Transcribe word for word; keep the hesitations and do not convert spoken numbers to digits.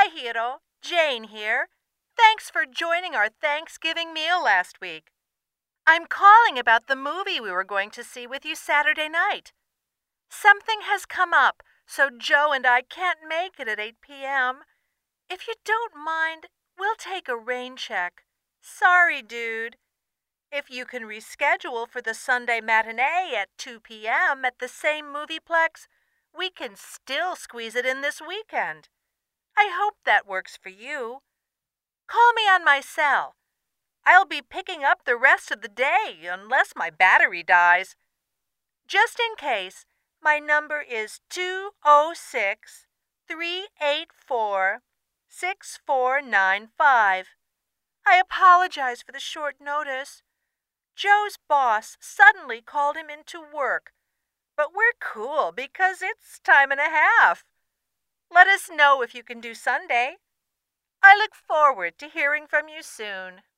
Hi, Hiro. Jane here. Thanks for joining our Thanksgiving meal last week. I'm calling about the movie we were going to see with you Saturday night. Something has come up, so Joe and I can't make it at eight p.m. If you don't mind, we'll take a rain check. Sorry, dude. If you can reschedule for the Sunday matinee at two p.m. at the same movieplex, we can still squeeze it in this weekend. I hope that works for you. Call me on my cell. I'll be picking up the rest of the day unless my battery dies. Just in case, my number is two oh six, three eight four, six four nine five. I apologize for the short notice. Joe's boss suddenly called him into work, but we're cool because it's time and a half. Let us know if you can do Sunday. I look forward to hearing from you soon.